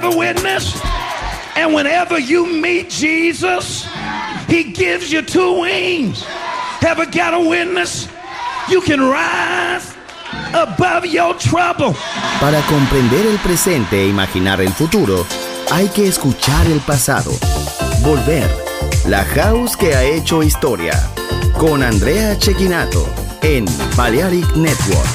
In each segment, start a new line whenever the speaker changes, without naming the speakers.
a witness? And whenever you meet Jesus, he gives you two wings. Ever got a witness? You can rise above your trouble.
Para comprender el presente e imaginar el futuro, hay que escuchar el pasado. Volver. La House que ha hecho historia. Con Andrea Cecchinato en Balearic Network.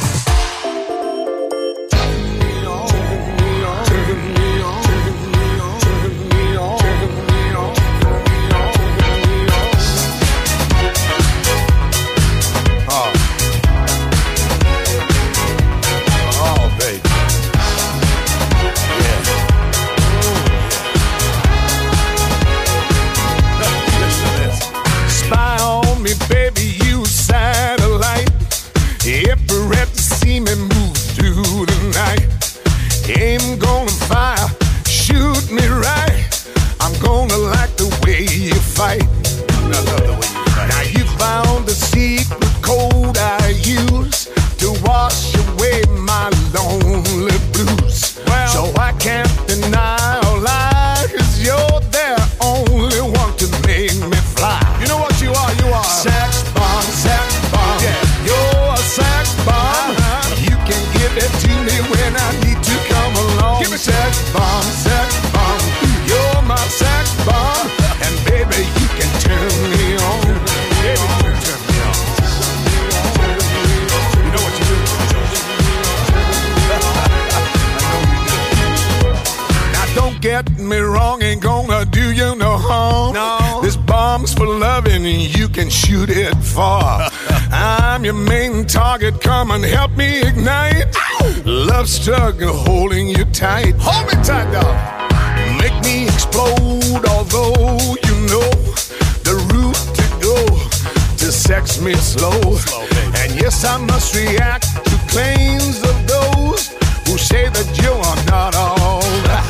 Get me wrong, ain't gonna do you no harm. No. This bomb's for loving, you can shoot it far. I'm your main target, come and help me ignite. Love struggle holding you tight. Hold me tight, dog. Make me explode, although you know the route to go to sex me slow. And yes, I must react to claims of those who say that you are not all that.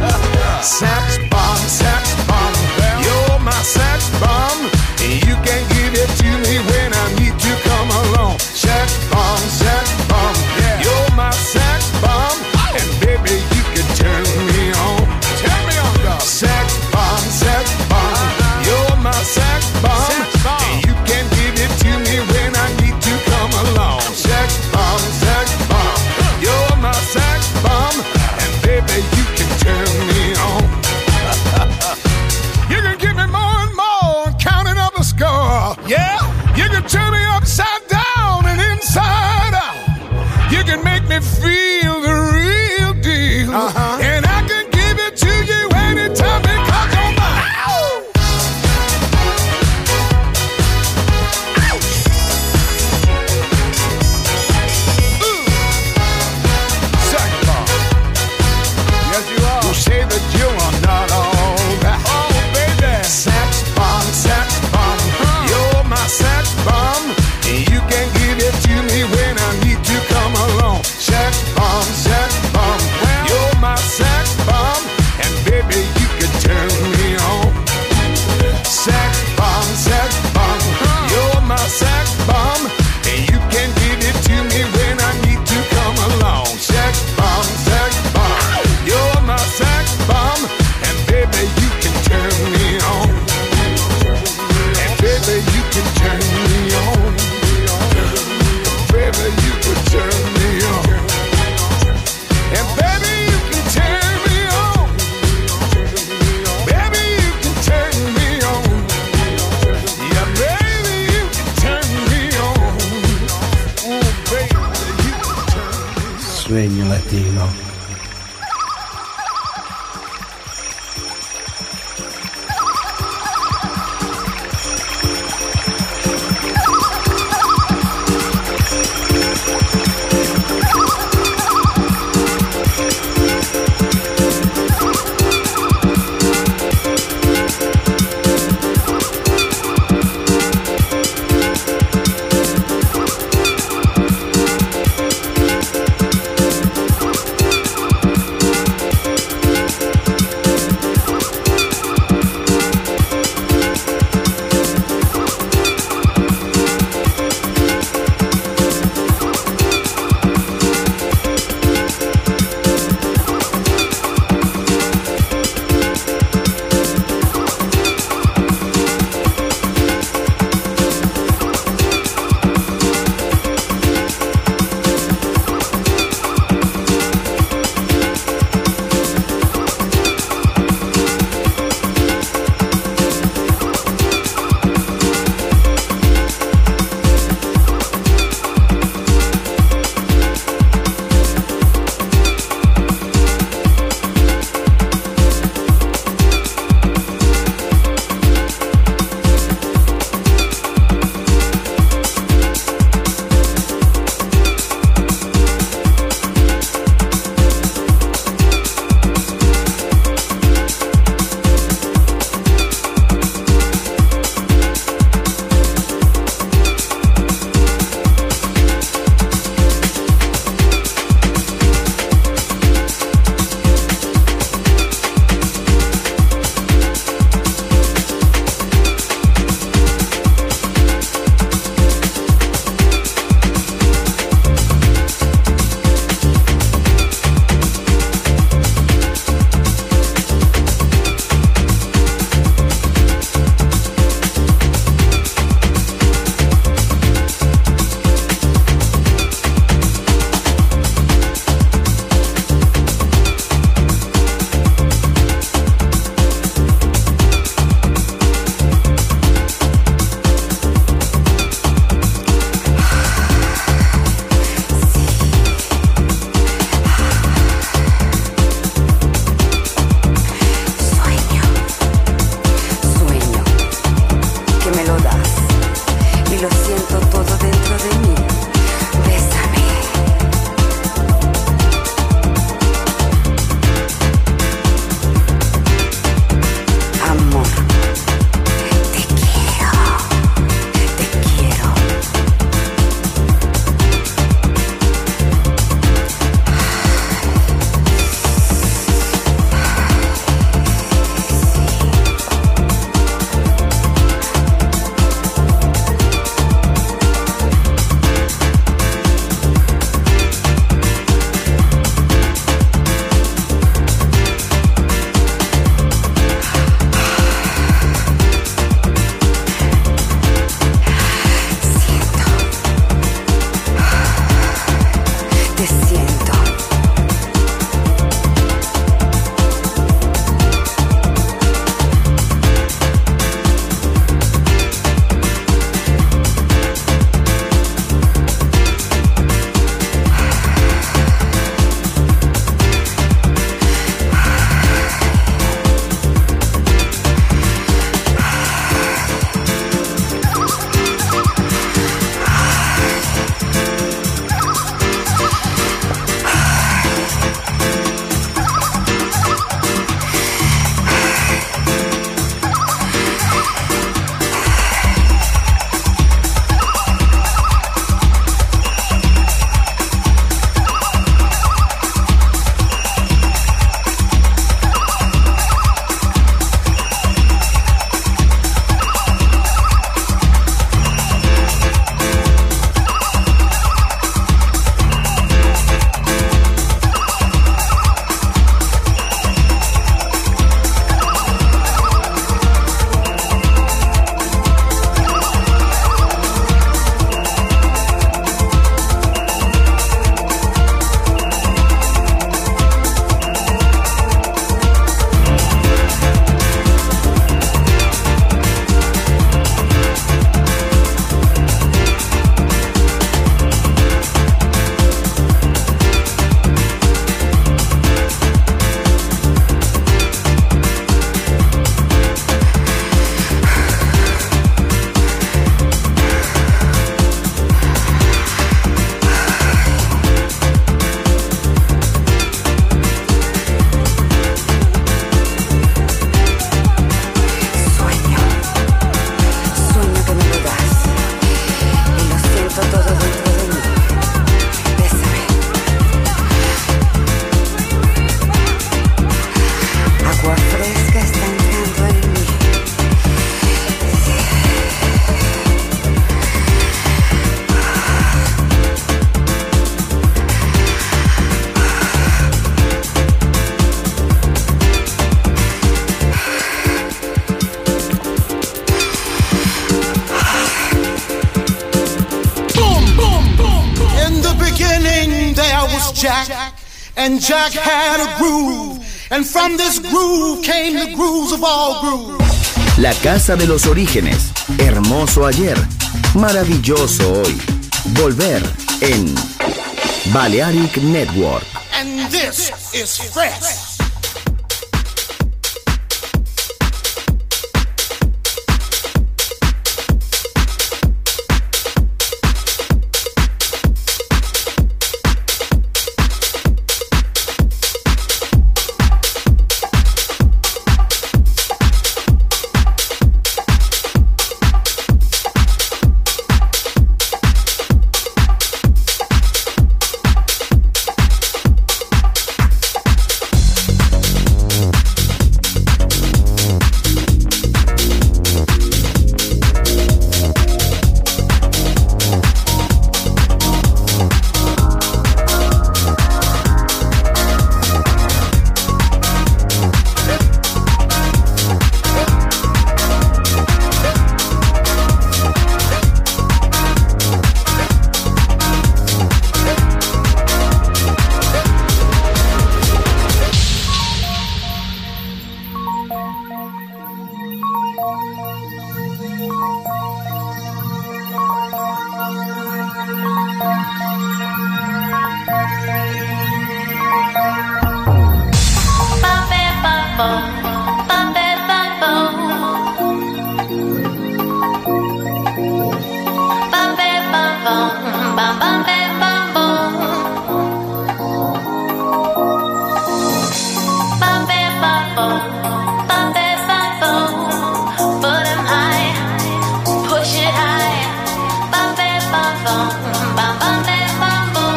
Sex bomb, you're my sex bomb. You can give it to me when I need to come along. Sex bomb, you're my sex bomb. And baby, you can turn me on. Turn me on, dog. Sex bomb, you're my sex bomb. And you can give it to me when I need to come along. Sex bomb, you're my sex bomb. And baby,
Jack, and Jack had a groove, and from this groove came the grooves of all grooves.
La casa de los orígenes, hermoso ayer, maravilloso hoy. Volver en Balearic Network.
And this is fresh.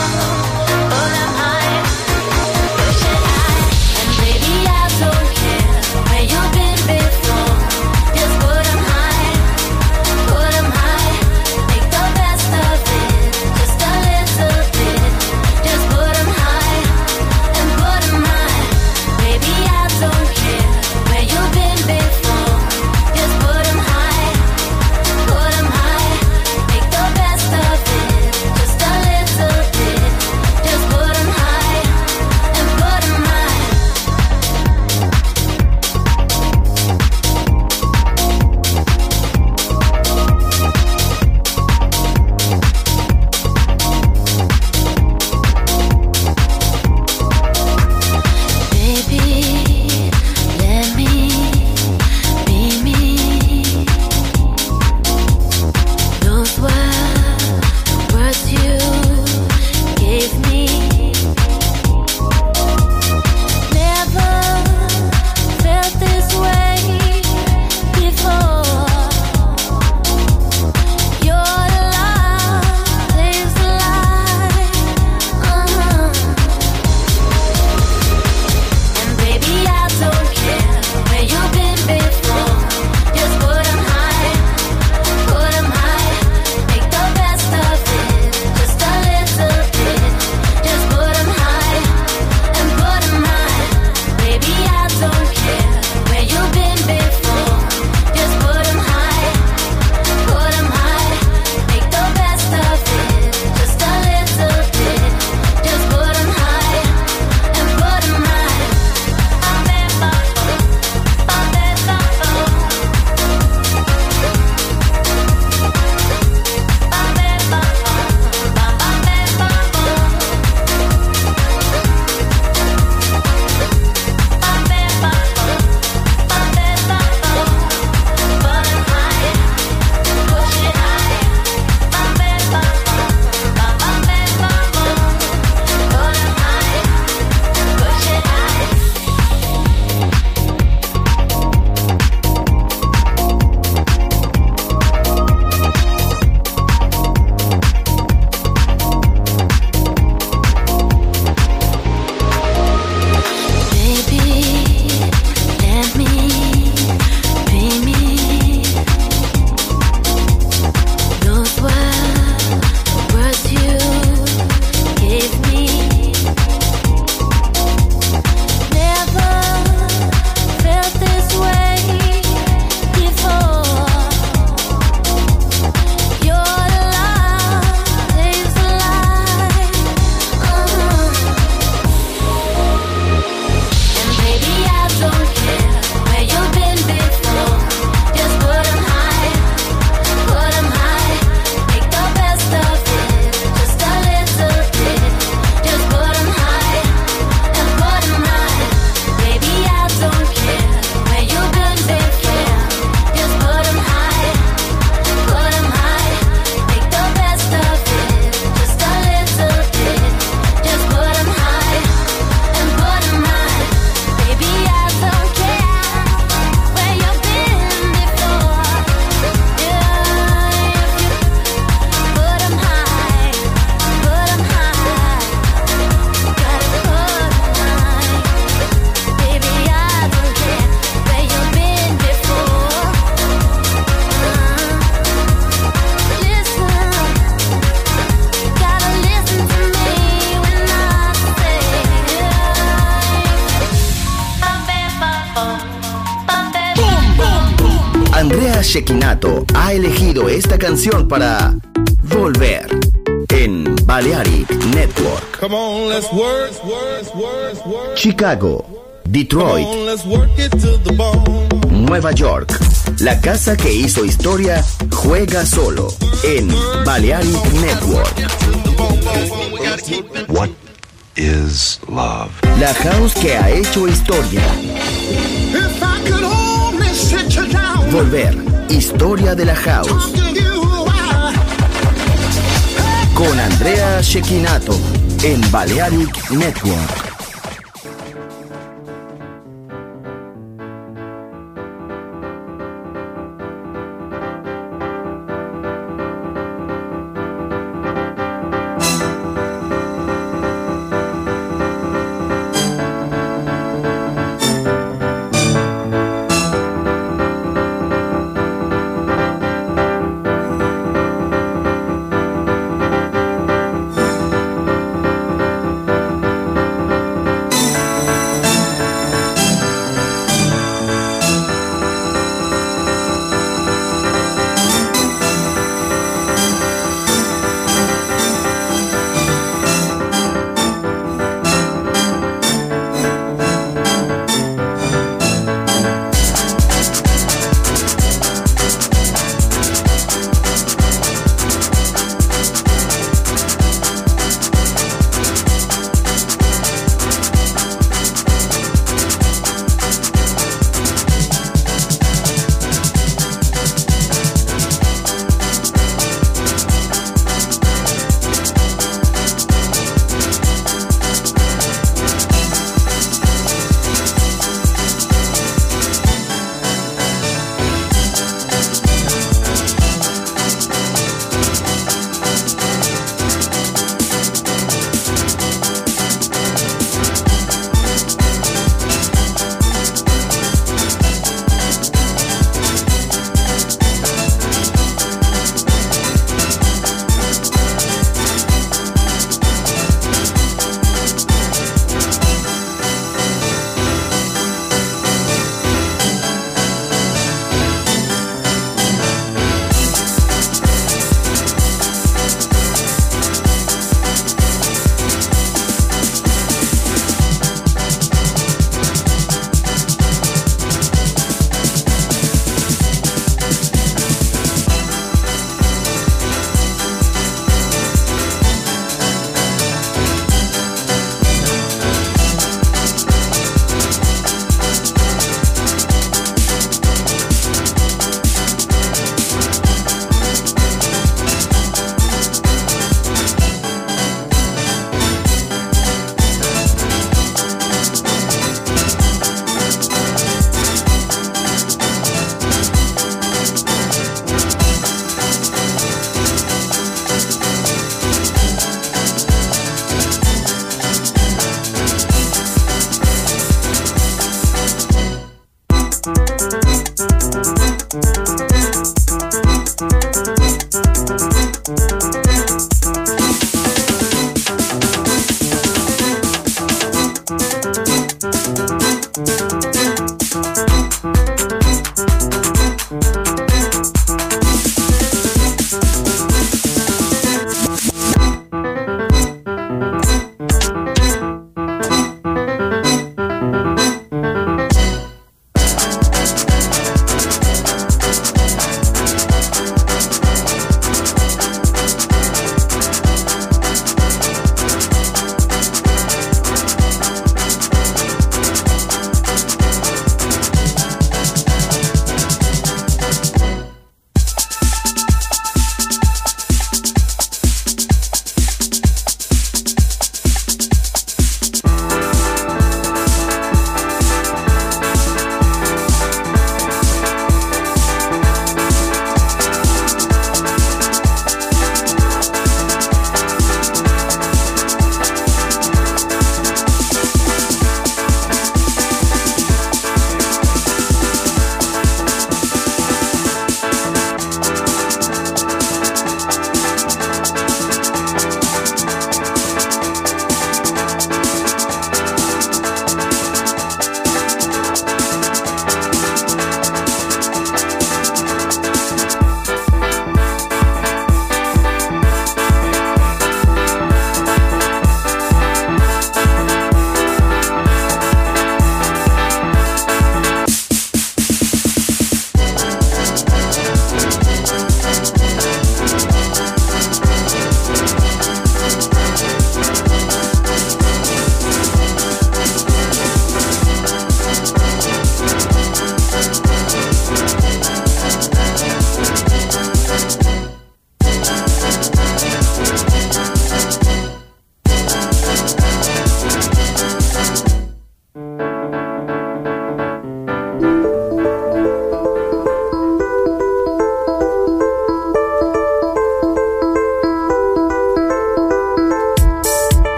And baby, I don't care.
Andrea Cecchinato ha elegido esta canción para volver en Balearic Network.
Come on, let's work.
Chicago, Detroit,
Come on, let's work it to the bone.
Nueva York. La casa que hizo historia juega solo en Balearic Network.
What is love?
La house que ha hecho historia.
If I could only sit you down,
Volver, historia de la house.
talk to you while
Con Andrea Cecchinato en Balearic Network.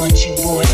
want you, boy.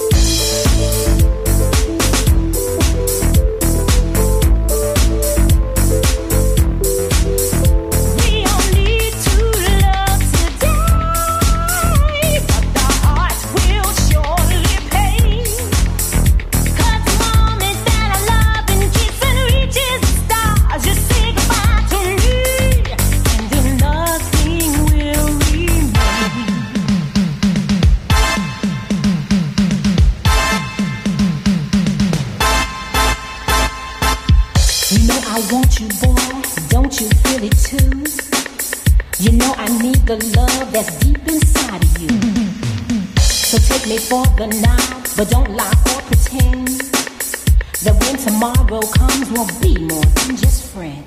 The love that's deep inside of you. So take me for the night, but don't lie or pretend that when tomorrow comes, we'll be more than just friends.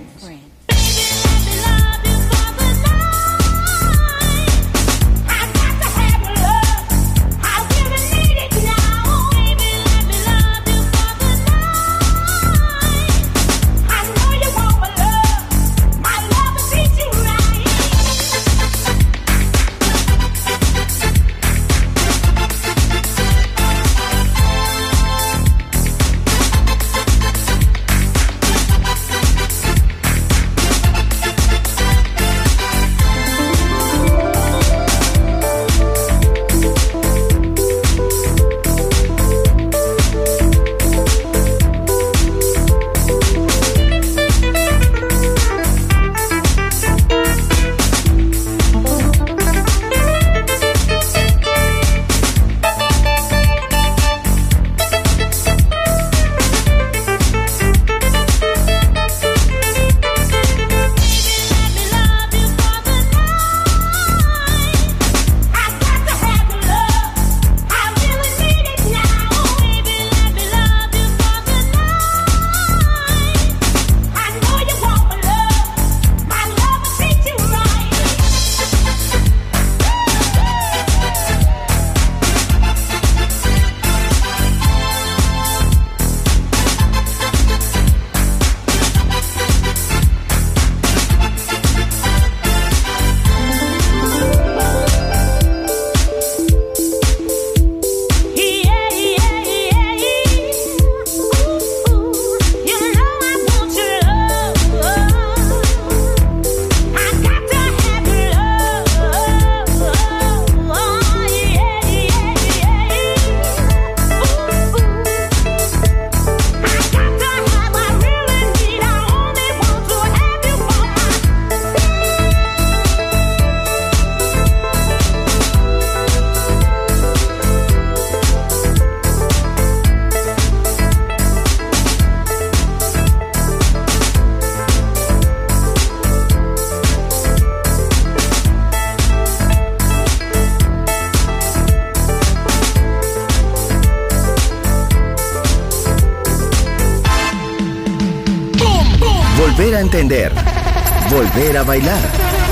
Volver a entender. Volver a bailar.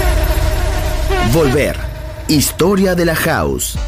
Volver. Historia de la house.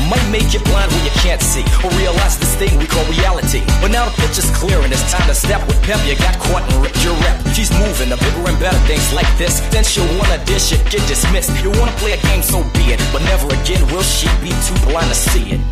might make you blind when you can't see, or realize this thing we call reality. But now the picture's clear and it's time to step with pep. You got caught and ripped your rep. She's moving to bigger and better things like this. Then she'll wanna dish it, get dismissed. You wanna play a game, so be it. But never again will she be too blind to see it.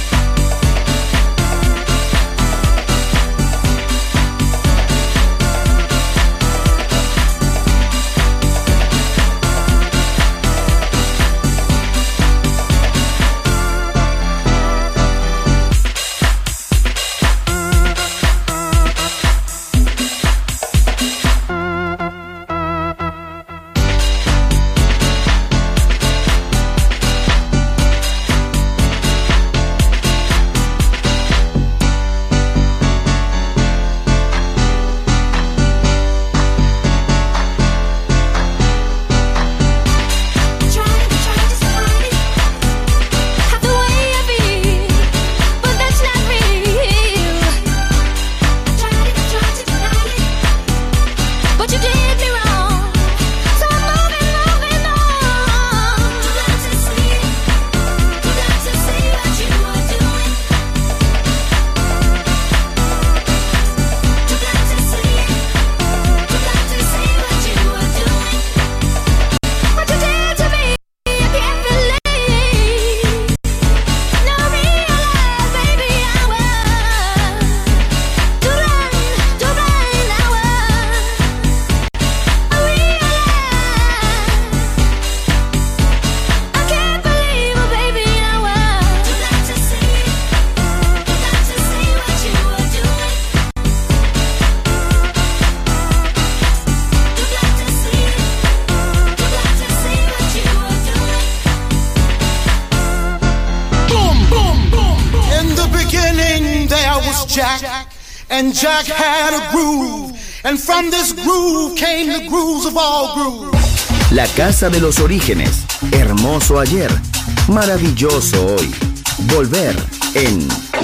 And Jack had a groove, and from this groove came the grooves of all grooves.
La casa de los orígenes, hermoso ayer, maravilloso hoy. Volver en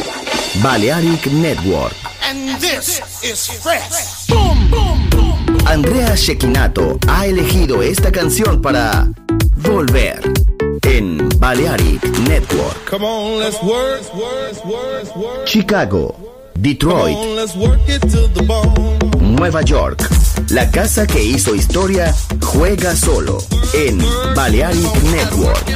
Balearic Network.
And this is fresh. Boom, boom, boom.
Andrea Cecchinato ha elegido esta canción para Volver en Balearic Network.
Come on, let's work.
Chicago, Detroit,
Come on, let's work it to the bone.
Nueva York. La casa que hizo historia juega solo en Balearic Network.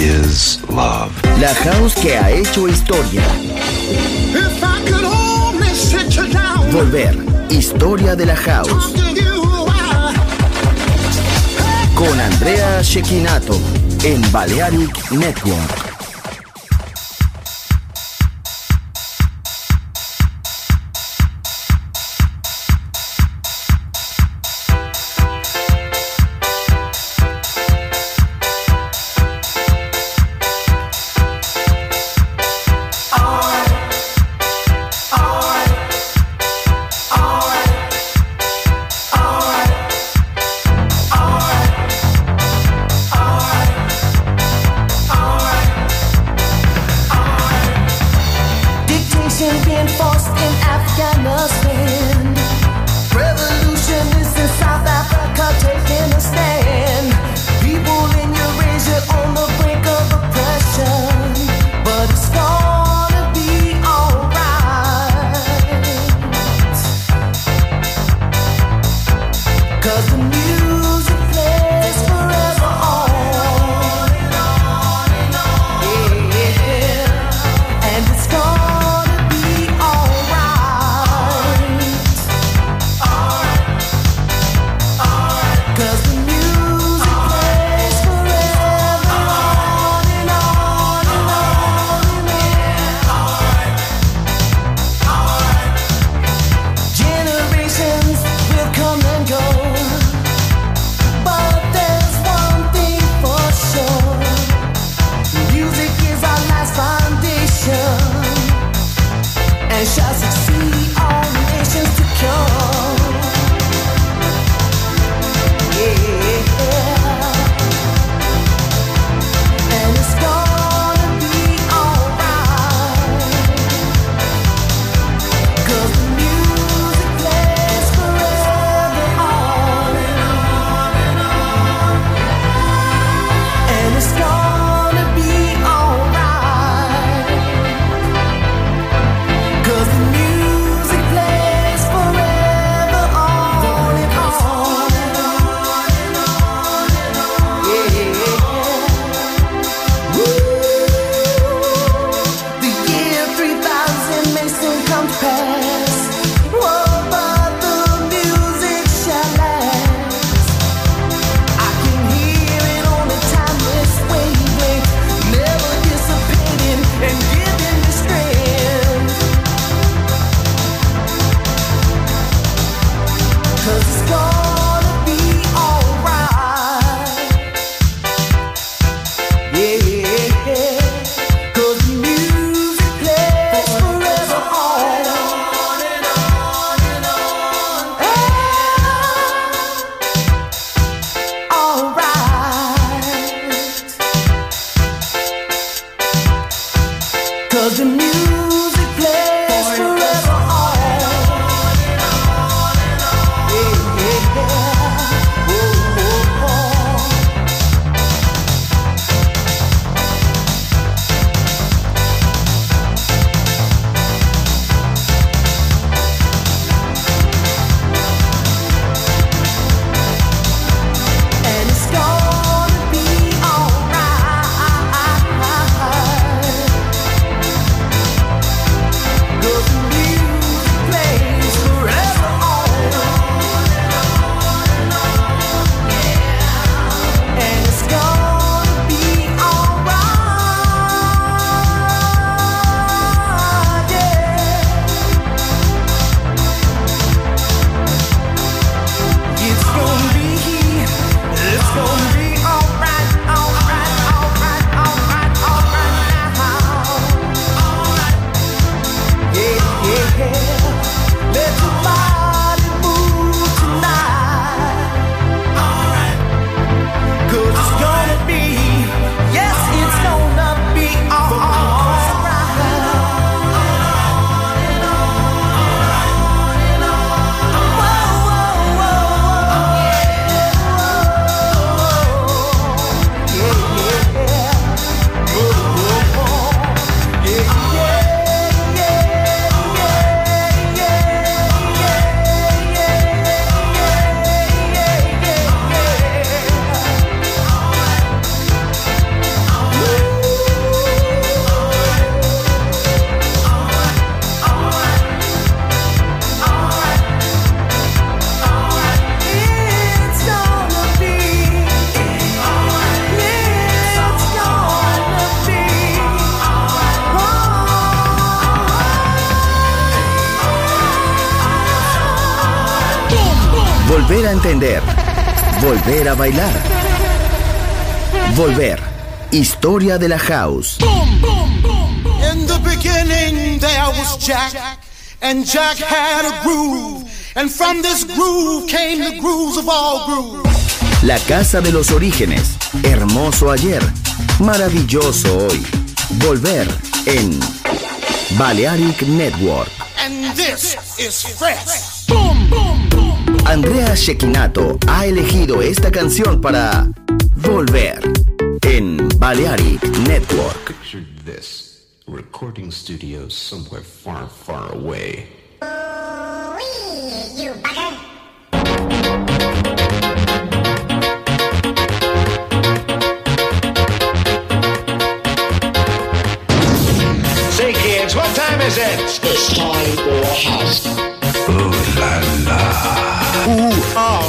is love.
La house que ha hecho historia.
If I could only sit you down.
Volver. Historia de la house.
Talk to you,
Con Andrea Cecchinato en Balearic Network. volver a entender, volver a bailar. Volver. Historia de la house.
In the beginning there was Jack, and Jack had a groove, and from this groove came the grooves of all grooves.
La casa de los orígenes. Hermoso ayer, maravilloso hoy. Volver en Balearic Network.
And this is fresh.
Andrea Cecchinato ha elegido esta canción para Volver en Balearic Network.
Picture this. Recording studio somewhere far, far away.
You bugger.
Say, kids, what time is it?
It's time for a house.
Ooh la la.
Ooh, oh.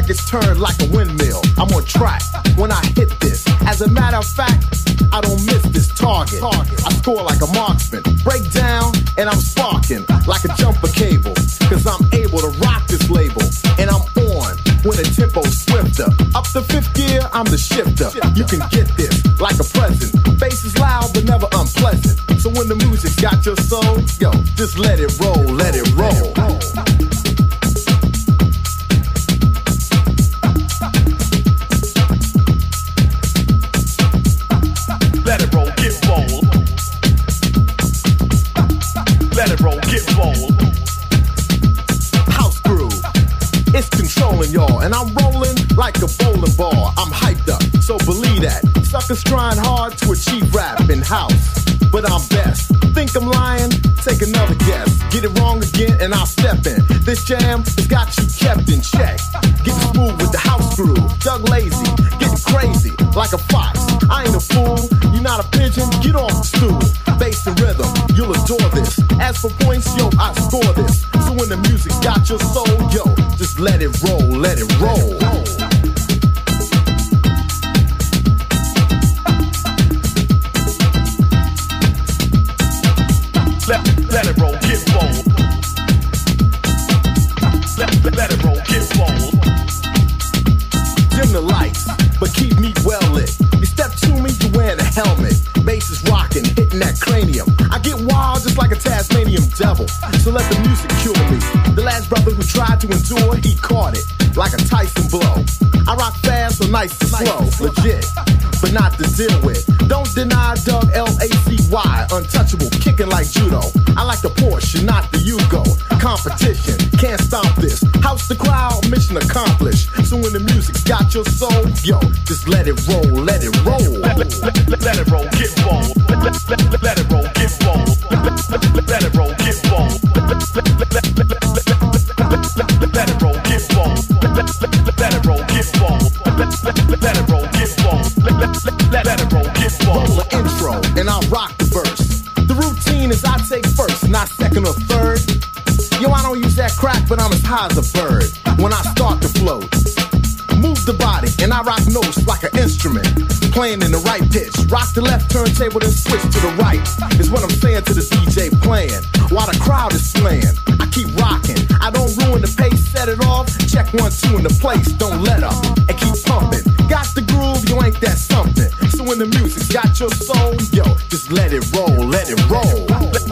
Circuits turn like a windmill. I'm on track when I hit this. As a matter of fact, I don't miss this target. I score like a marksman. Break down and I'm sparking like a jumper cable. Cause I'm able to rock this label. And I'm on when the tempo's swifter. Up to fifth gear, I'm the shifter. You can get this like a present. Bass is loud but never unpleasant. So when the music's got your soul, yo, just let it roll, let it roll.
Let it roll, get roll. Let it roll, get roll.
House groove, it's controlling y'all. And I'm rolling like a bowling ball. I'm hyped up, so believe that. Suckers trying hard to achieve rap in house, but I'm best. Think I'm lying? Take another guess. Get it wrong again and I'll step in. This jam has got you kept in check. Getting smooth with the house groove. Doug Lazy, getting crazy like a fox. I ain't a fool, you're not a pigeon, get off the stool. Bass and rhythm, you'll adore this. As for points, yo, I score this. So when the music's got your soul, yo, just let it roll, let it roll.
Let it roll, get roll. Let it roll, get roll.
Dim the lights, but keep me well lit. You step to me, you wearing a helmet. Bass is rocking, hitting that cranium. I get wild just like a Tasmanian devil. So let the music cure me. The last brother who tried to endure, he caught it like a Tyson blow. I rock fast, so nice and slow, legit, but not to deal with. Don't deny Doug L-A-C-Y, untouchable, kicking like judo. I like the Porsche, not the Yugo. Competition, can't stop this. House the crowd, mission accomplished. So when the music's got your soul, yo, just let it roll, let it roll.
Let it roll, get roll. Let it roll, get roll. Let it roll, get roll. Let it roll, get roll. Let it roll, get roll. Let it roll, get roll. Let it roll, get roll.
Roll the intro, and I'll rock the verse. The routine is I take first, not second or third. Yo, I don't use that crack, but I'm as high as a bird when I start to float. Move the body, and I rock notes like an instrument, playing in the right pitch. Rock the left turntable, then switch to the right, is what I'm saying to the DJ playing, while the crowd is slaying. I keep rocking, I don't ruin the pace, set it off, check 1, 2 in the place, don't let up, and keep pumping. Got the groove, you ain't that something. So when the music's got your soul, yo, just let it roll, let it roll.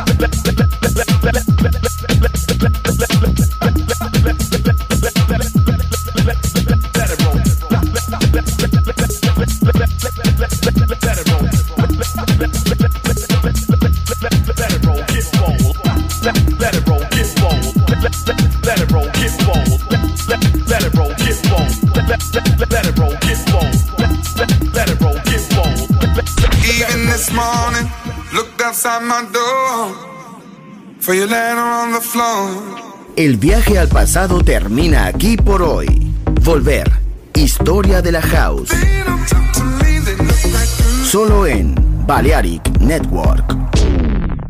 Even this morning, looked outside my door for your letter on the floor.
El viaje al pasado termina aquí por hoy. Volver. Historia de la House. Solo en Balearic Network.